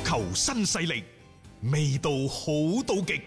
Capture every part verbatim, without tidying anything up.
球新勢力，味道好到極。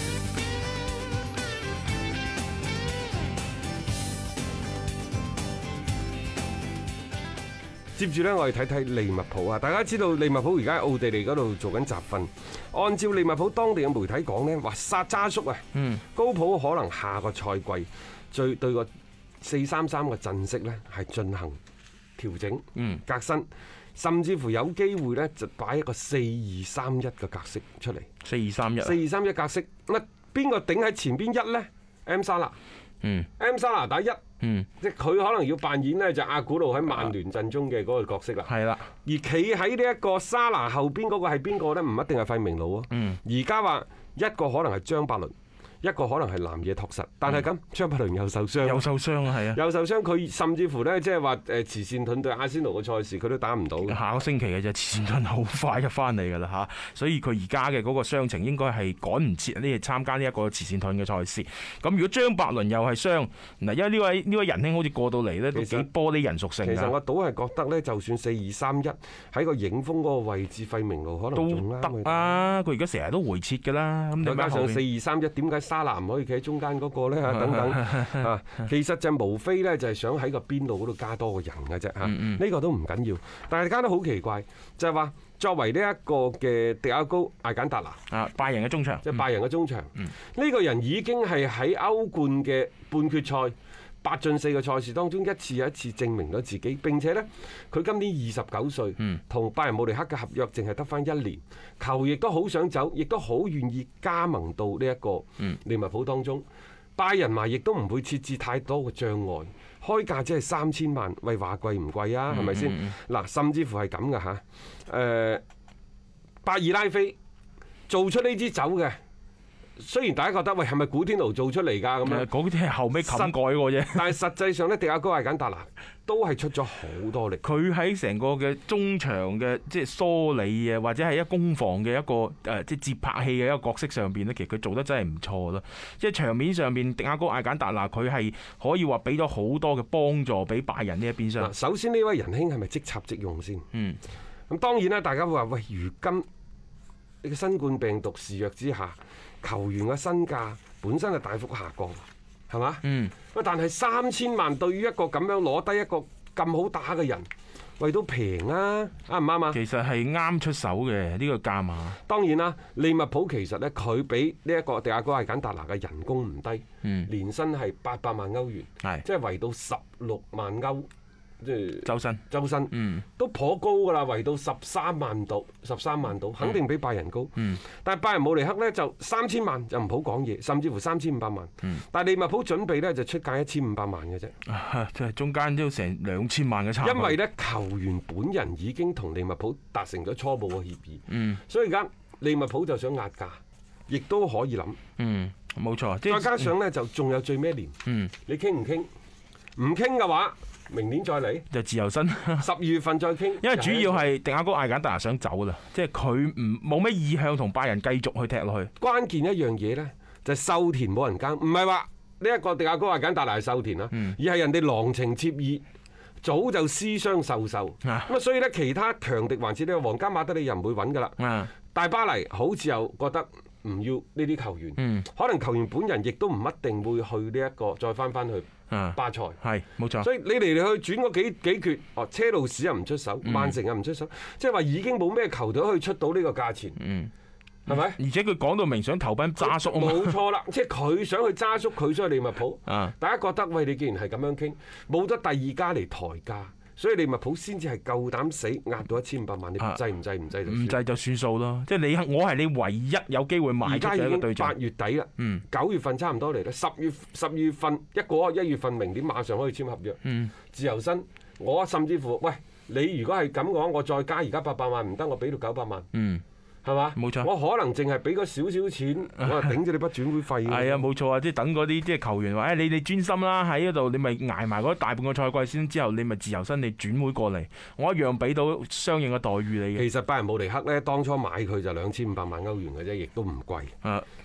接住呢，我哋睇睇利物浦啊！大家知道利物浦而家喺奧地利嗰度做緊集訓。按照利物浦當地嘅媒體講呢，話沙渣叔啊，嗯、高普可能下個賽季最對個四三三嘅陣式呢係進行調整、嗯、革新，甚至乎有機會呢就擺一個四二三一嘅格式出嚟。 四二三一， 四二三一格式，乜邊個頂喺前邊一呢？ M 沙拿，嗯，M 沙拿打一。嗯，即係佢可能要扮演呢就阿古路喺曼聯陣中嘅嗰個角色啦。係啦，而企喺呢一個沙拿後邊嗰個係邊個呢？唔一定係費明路啊。嗯，而家話一個可能係張伯倫，一個可能係南野拓實，但係咁張伯倫又受傷， 又受傷啊，係啊， 又受傷，佢甚至乎呢，即係話誒慈善盾對阿仙奴嘅賽事佢都打唔到。 下個星期嘅啫，慈善盾好快就翻嚟㗎啦嚇，所以佢而家嘅嗰個傷情應該係趕唔切呢，參加呢一個慈善盾嘅賽事。咁如果張伯倫又係傷嗱，因為呢位呢位仁兄好似過到嚟呢，都幾玻璃人屬性。 其實我倒係覺得呢，就算四二三一喺個影鋒嗰個位置，費明路可能仲都得啊！佢而家成日都回撤㗎啦，咁再加上四二三一，點解沙拿唔可以企喺中間嗰個咧？等等啊，其實就無非咧就係想喺個邊路嗰度加多個人嘅啫嚇，呢個都唔緊要。但係加得好奇怪，就係話作為呢一個嘅迪亞高艾簡達拿啊，拜仁嘅中場， 即係拜仁嘅中場，呢個人已經係喺歐冠嘅半決賽八進四嘅賽事當中一次又一次證明咗自己。並且呢，佢今年二十九歲，同拜仁慕尼黑嘅合約淨係得翻一年，球亦都好想走，亦都好願意加盟到呢一個利物浦當中。拜仁嘛，亦都唔會設置太多嘅障礙，開價只係三千萬，喂，話貴唔貴啊？係咪先？嗱，甚至乎係咁嘅嚇，誒，巴爾拉菲做出呢支酒嘅。雖然大家覺得喂係咪古天奴做出嚟㗎咁樣， 嗰啲係後尾冚改過啫。 但係實際上咧，迪亞高艾簡達拿都係出咗好多力。 佢喺成個嘅中場嘅即係梳理啊，或者係一攻防嘅一個誒即係接拍器嘅一個角色上邊咧，其實佢做得真係唔錯咯。即係場面上面，迪亞高艾簡達拿佢係可以話俾咗好多嘅幫助俾拜仁呢一邊廂。 首先呢位仁兄係咪即插即用先？嗯。咁當然啦，大家會話喂，如今呢個新冠病毒肆虐之下，球員嘅身價本身係大幅下降，係嘛？嗯。喂，但係三千萬對於一個咁樣攞低一個咁好打嘅人，喂都平啊，啱唔啱啊？ 其實係啱出手嘅呢個價碼。 當然啦，利物浦其實咧佢俾呢一個迪亞哥艾簡達拿嘅人工唔低，嗯、年薪係八百萬歐元，係即係圍到十六萬歐。即係周身， 周身，嗯，都頗高㗎啦，圍到十三萬度，十三萬度，肯定比拜仁高。嗯，但係拜仁慕尼黑呢，就三千萬就唔好講嘢，甚至乎三千五百萬。嗯，但係利物浦準備呢，就出價一千五百萬嘅啫。 即係中間都成兩千萬嘅差距。 因為呢，球員本人已經同利物浦達成咗初步嘅協議。嗯，所以而家利物浦就想壓價，亦都可以諗。 嗯，冇錯。 再加上呢，就仲有最尾一年。嗯，你傾唔傾？唔傾嘅話，明年再嚟就自由身， 十二月份再傾。 因為主要係迪亞高艾簡達拿想走啦，即係佢唔冇咩意向同拜仁繼續去踢落去。 關鍵一樣嘢呢，就係秀田冇人耕，唔係話呢一個迪亞高艾簡達拿係秀田啦，嗯、而係人哋郎情妾意，早就私相授受。咁啊，所以呢，其他強敵還是呢個皇家馬德里又唔會揾噶啦。啊、大巴黎好似又覺得唔要呢啲球員，嗯、可能球員本人亦都唔一定會去呢、這、一個再翻翻去。巴塞係冇錯， 所以你嚟嚟去轉嗰幾幾決，哦，車路士又唔出手，曼城又唔出手，即係話已經冇咩球隊可以出到呢個價錢，嗯，係咪？而且佢講到明想投奔渣叔啊嘛， 冇錯啦，即係佢想去渣叔，佢想去利物浦，啊，大家覺得喂，你既然係咁樣傾，冇得第二家嚟抬價。所以利物浦先至係夠膽死壓到一千五百萬，你制唔制？唔制就唔制就算數咯。即係你我係你唯一有機會買嘅一個對象。 八月底啦，嗯，九月份差唔多嚟啦，十月十月份一過一月份，明年馬上可以簽合約。嗯，自由身，我甚至乎喂，你如果係咁嘅話，我再加而家八百萬唔得，我俾到九百萬。嗯。係嘛？冇錯，我可能淨係俾嗰少少錢，我係頂住你筆轉會費。係啊， 冇錯啊！即係等嗰啲即係球員話：誒、哎，你哋專心啦，喺嗰度你咪捱埋嗰大半個賽季先，之後你咪自由身你轉會過嚟，我一樣俾到相應嘅待遇你嘅。 其實拜仁慕尼黑咧，當初買佢就兩千五百萬歐元嘅啫，亦都唔貴。啊。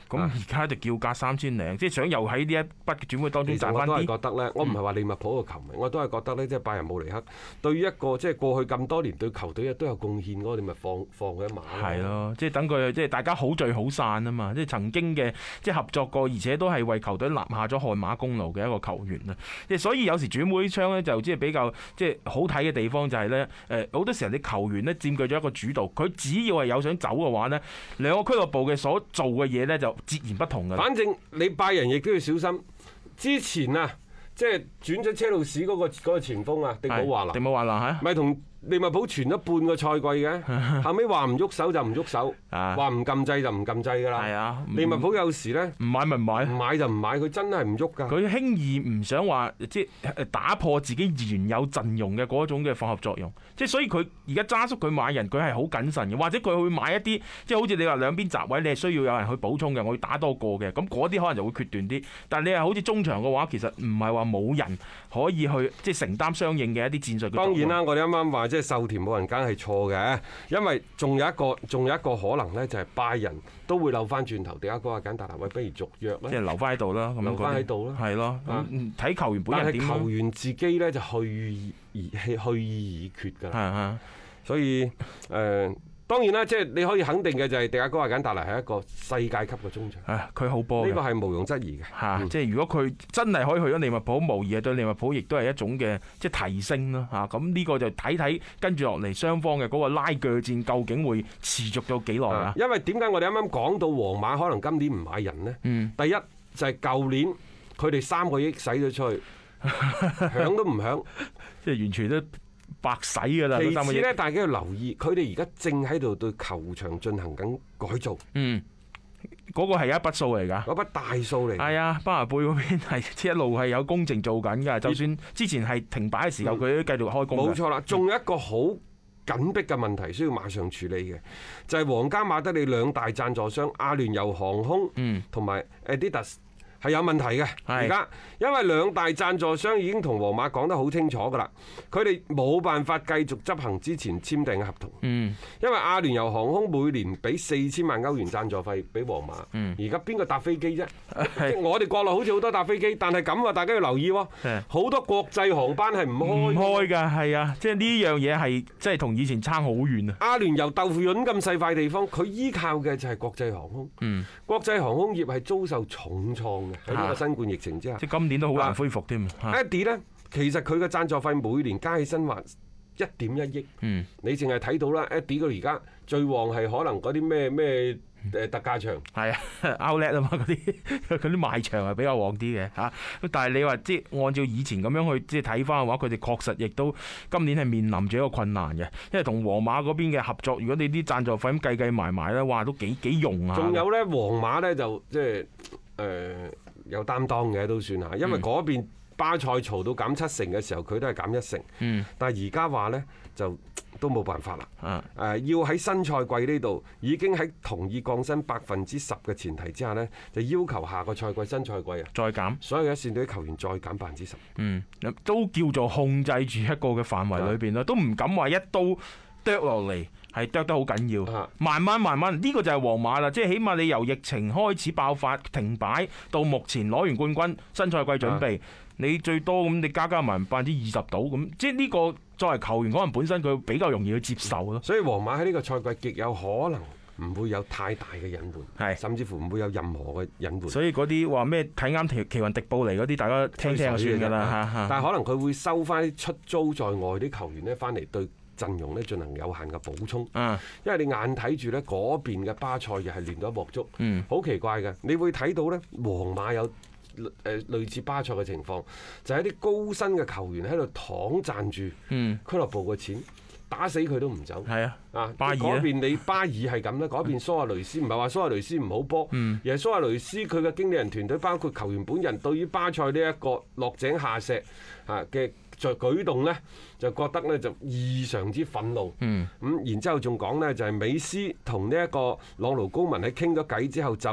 咁而家就叫價三千零，即係想又喺呢一筆嘅轉會當中賺翻啲。 其實我都係覺得咧，我唔係話利物浦嘅球迷，我都係覺得咧，即係拜仁慕尼黑對於一個即係過去咁多年對球隊都有貢獻嗰個，你咪放放佢一馬。 係咯，即係等佢即係大家好聚好散啊嘛！即係曾經嘅即係合作過，而且都係為球隊立下咗汗馬功勞嘅一個球員啦。即係所以有時轉會窗咧就即係比較即係好睇嘅地方就係咧誒好多時候啲球員咧佔據咗一個主導，佢只要係有想走嘅話咧，兩個俱樂部嘅所做嘅嘢咧就截然不同㗎。 反正你拜仁亦都要小心。之前啊，即係轉咗車路士嗰個嗰個前鋒啊，迪姆華拿， 迪姆華拿嚇， 咪同利物浦傳咗半個賽季嘅，後尾話唔喐手就唔喐手，話唔撳掣就唔撳掣㗎啦。係啊，利物浦有時咧唔買咪唔買， 唔買就唔買，佢真係唔喐㗎。 佢輕易唔想話即係打破自己原有陣容嘅嗰種嘅化合作用，即係所以佢而家揸叔佢買人，佢係好謹慎嘅，或者佢會買一啲即係好似你話兩邊閘位，你係需要有人去補充嘅，我要打多個嘅，咁嗰啲可能就會決斷啲。但係你係好似中場嘅話，其實唔係話冇人可以去即係承擔相應嘅一啲戰術。 當然啦，我哋啱啱話即係秀田冇人梗係錯嘅，因為仲有一個仲有一個可能咧，就係拜仁都會扭翻轉頭，迪亞哥阿簡達拿喂，不如續約啦， 即係留翻喺度啦， 留翻喺度啦， 係咯，睇球員本人點。但係球員自己咧就去而去意已決㗎啦，所以誒。呃當然啦，即係你可以肯定嘅就係迪亞哥阿簡達拿係一個世界級嘅中場。 佢好波， 呢個係毋庸置疑嘅。 嚇、嗯，即係如果佢真係可以去咗利物浦，無疑係對利物浦亦都係一種嘅即係提升啦。嚇，咁呢個就睇睇跟住落嚟雙方嘅嗰個拉鋸戰究竟會持續到幾耐啊？ 因為點解我哋啱啱講到皇馬可能今年唔買人呢？ 嗯、 第一就係舊年佢哋三個億使咗出去，響都唔響， 即係完全都白使㗎啦。 其次咧，大家要留意，佢哋而家正喺度對球場進行緊改造。 嗯，嗰、那個係一筆數嚟㗎， 嗰筆大數嚟。係啊，巴拿貝嗰邊係一路係有工程做緊㗎。就算之前係停擺嘅時候，佢、嗯、都繼續開工。冇錯啦，仲有一個好緊迫嘅問題需要馬上處理嘅，就係、是、皇家馬德里兩大贊助商阿聯酋航空同埋 Adidas。係有問題嘅，而家因為兩大贊助商已經同皇馬講得好清楚㗎啦，佢哋冇辦法繼續執行之前簽訂嘅合同。嗯，因為阿聯酋航空每年俾四千萬歐元贊助費俾皇馬。嗯，而家邊個搭飛機啫？即我哋國內好似好多搭飛機，但係咁啊，大家要留意喎。好多國際航班係唔開唔開㗎，係啊，即係呢樣嘢係即係同以前差好遠啊。 阿聯酋豆腐潤咁細塊地方，佢依靠嘅就係國際航空。嗯，國際航空業係遭受重創。喺呢個新冠疫情之下， 即係今年都好難恢復添。 Eddie 咧，其實佢嘅贊助費每年加起身話一點一億。嗯，你淨係睇到啦 ，Eddie 佢而家最旺係可能嗰啲咩咩誒特價場。係啊 ，Outlet 啊嘛，嗰啲嗰啲賣場係比較旺啲嘅嚇。但係你話即係按照以前咁樣去即係睇翻嘅話，佢哋確實亦都今年係面臨住一個困難嘅，因為同皇馬嗰邊嘅合作，如果你啲贊助費咁計計埋埋咧，哇都幾幾用啊！ 仲有咧，皇馬咧就即係誒。有擔當嘅都算嚇，因為嗰邊巴塞嘈到減七成嘅時候，佢都係減一成。嗯，但係而家話呢，就都冇辦法啦。誒，要喺新賽季呢度已經喺同意降薪百分之十嘅前提之下呢，就要求下個賽季新賽季啊再減， 所有一線隊球員再減百分之十。 嗯，都叫做控制住一個嘅範圍裏邊啦，都唔敢話一刀剁落嚟。係剁得好緊要，慢慢慢慢呢、呢個就係皇馬啦，即係起碼你由疫情開始爆發停擺到目前攞完冠軍，新賽季準備，你最多咁你加加埋百分之二十到咁，即係呢個作為球員可能本身佢比較容易去接受咯。 所以皇馬喺呢個賽季極有可能唔會有太大嘅隱瞞，係甚至乎唔會有任何嘅隱瞞。 所以嗰啲話咩睇啱奇奇雲迪布尼嗰啲，大家聽聽就算㗎啦。 但係可能佢會收翻啲出租在外啲球員咧，翻嚟對陣容咧進行有限嘅補充，因為你眼睇住咧嗰邊嘅巴塞又係亂到一鑊粥，好奇怪嘅。你會睇到咧，皇馬有誒類似巴塞嘅情況，就係一啲高薪嘅球員喺度躺賺住俱樂部嘅錢，打死佢都唔走。係啊，啊巴爾嗰邊你巴爾係咁咧，嗰邊蘇亞雷斯唔係話蘇亞雷斯唔好波，而係蘇亞雷斯佢嘅經理人團隊包括球員本人對於巴塞呢一個落井下石啊嘅在舉動呢，就覺得呢就異常之憤怒。嗯，咁然之後仲講呢，就係美斯同呢一個朗奴高文喺傾咗偈之後就誒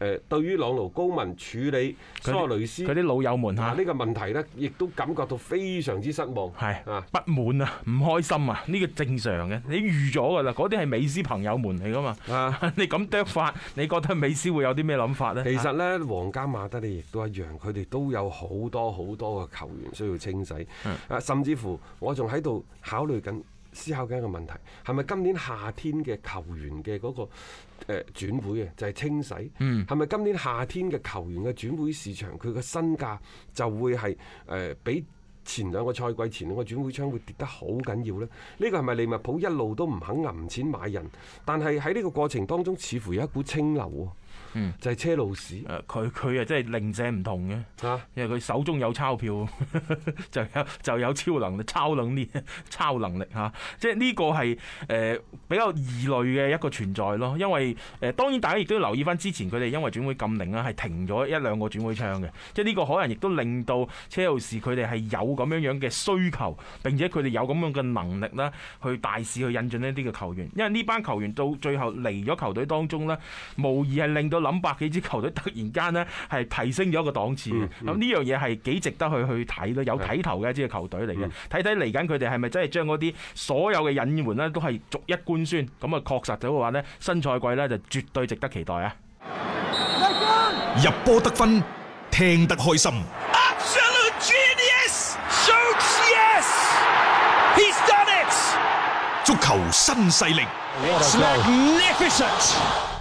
誒對於朗奴高文處理蘇亞雷斯佢啲老友們嚇呢個問題呢，亦都感覺到非常之失望， 係啊不滿啊，唔開心啊，呢個正常嘅，你預咗㗎啦，嗰啲係美斯朋友們嚟㗎嘛， 啊你咁啄法，你覺得美斯會有啲咩諗法呢？ 其實呢，皇家馬德里亦都一樣，佢哋都有好多好多嘅球員需要清洗，啊，甚至乎我仲喺度考慮緊。思考緊一個問題，係咪今年夏天嘅球員嘅嗰個誒轉會啊，就係清洗？係咪今年夏天嘅球員嘅轉會市場，佢嘅身價就會係誒比前兩個賽季前兩個轉會窗會跌得好緊要呢？呢個係咪利物浦一路都唔肯揞錢買人？但係喺呢個過程當中，似乎有一股清流喎。嗯，就係車路士。 誒，佢佢啊，真係零舍唔同嘅嚇，因為佢手中有鈔票，就有就有超能力、超能力、超能力嚇。即係呢個係誒比較異類嘅一個存在咯。因為誒當然大家亦都要留意翻之前佢哋因為轉會禁令啦，係停咗一兩個轉會窗嘅。即係呢個可能亦都令到車路士佢哋係有咁樣樣嘅需求，並且佢哋有咁樣嘅能力啦，去大肆去引進呢啲嘅球員。因為呢班球員到最後嚟咗球隊當中呢，無疑係令到諗百幾支球隊突然間呢係提升咗一個檔次嘅，咁呢樣嘢係幾值得去去睇咯，有睇頭嘅一支球隊嚟嘅，睇睇嚟緊佢哋係咪真係將嗰啲所有嘅引援呢都係逐一官宣，咁啊確實咗嘅話呢，新賽季呢就絕對值得期待啊！ 入波得分，聽得開心。 Absolute genius! Shoots yes! He's done it! 足球新勢力 It's magnificent!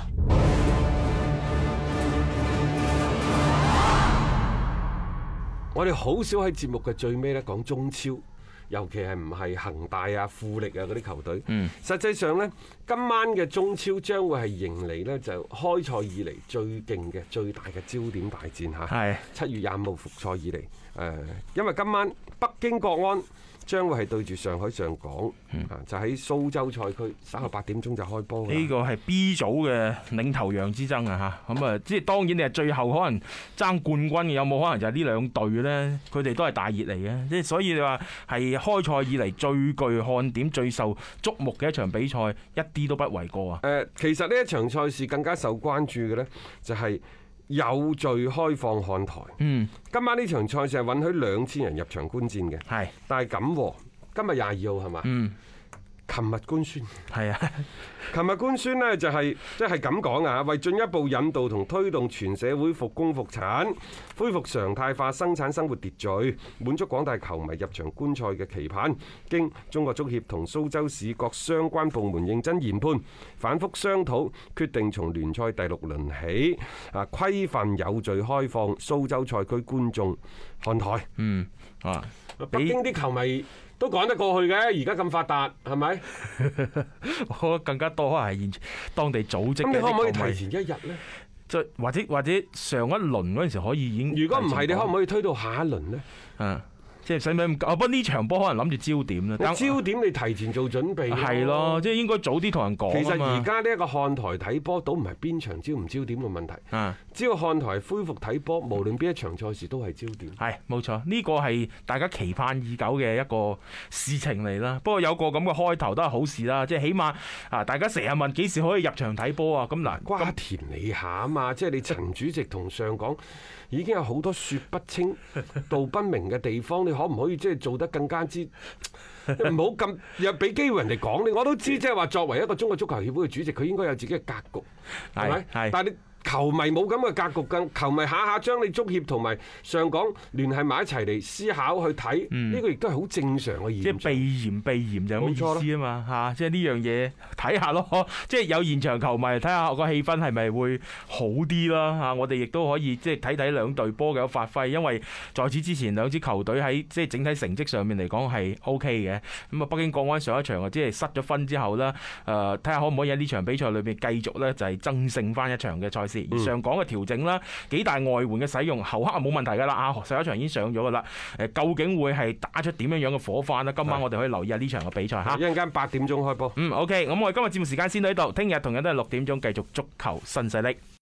我哋好少喺節目嘅最尾咧講中超，尤其係唔係恒大啊、富力啊嗰啲球隊。嗯，實際上呢，今晚嘅中超將會係迎嚟呢就開賽以嚟最勁嘅、最大嘅焦點大戰嚇。係七月廿五號復賽以嚟，誒，因為今晚北京國安將會係對住上海上港，嗯、就喺蘇州賽區，稍後八點鐘就開波。 呢個係 B 組嘅領頭羊之爭啊！嚇，咁啊，即係當然你係最後可能爭冠軍嘅，有冇可能就係呢兩隊呢？佢哋都係大熱嚟嘅，即係所以你話係開賽以嚟最具看點、最受矚目嘅一場比賽，一啲都不為過啊！ 誒，其實呢一場賽事更加受關注嘅呢，就係有序開放看台。嗯，今晚呢場賽事係允許兩千人入場觀戰嘅。係，但係咁喎，今日廿二號係嘛？嗯。琴日官宣係啊，琴日官宣呢就係即係咁講啊，為進一步引導同推動全社會復工復產，恢復常態化生產生活秩序，滿足廣大球迷入場觀賽嘅期盼，經中國足協同蘇州市各相關部門認真研判，反覆商討，決定從聯賽第六輪起啊，規範有序開放蘇州賽區觀眾看台。嗯啊，北京啲球迷都講得過去嘅，而家咁發達，係咪？ 我覺得更加多係現當地組織嘅。 咁你可唔可以提前一日呢？ 即或者或者上一輪嗰陣時可以已經。 如果唔係，你可唔可以推到下一輪呢？ 嗯。即係使唔使咁？不過呢場波可能諗住焦點啦。 焦點你提前做準備。 係咯，即係應該早啲同人講。 其實而家呢一個看台睇波，倒唔係邊場焦唔焦點嘅問題。啊，只要看台恢復睇波，無論邊一場賽事都係焦點。係冇錯，呢個係大家期盼已久嘅一個事情嚟啦。不過有個咁嘅開頭都係好事啦，即係起碼啊，大家成日問幾時可以入場睇波啊？咁嗱， 瓜田李下啊嘛，即係你陳主席同上港已經有好多説不清道不明嘅地方，你可唔可以即係做得更加之唔好咁又俾機會人哋講你？我都知即係話作為一個中國足球協會嘅主席，佢應該有自己嘅格局，係咪？係。但係你球迷冇咁嘅格局，更球迷下下將你足協同埋上港聯繫埋一齊嚟思考去睇，呢個亦都係好正常嘅現象。即係避嫌避嫌就咁意思啊嘛嚇！即係呢樣嘢睇下咯，即係有現場球迷睇下個氣氛係咪會好啲啦嚇！我哋亦都可以即係睇睇兩隊波嘅發揮，因為在此之前兩支球隊喺即係整體成績上面嚟講係 O K 嘅。咁啊，北京國安上一場啊，即係失咗分之後啦，誒睇下可唔可以喺呢場比賽裏邊繼續咧就係爭勝翻一場嘅賽事。而上港嘅調整啦，幾大外援嘅使用，後刻係冇問題㗎啦。啊，上一場已經上咗㗎啦。誒，究竟會係打出點樣樣嘅火花呢？今晚我哋可以留意下呢場嘅比賽嚇。一陣間八點鐘開波。嗯，OK，咁我哋今日節目時間先到呢度，聽日同樣都係六點鐘繼續足球新勢力。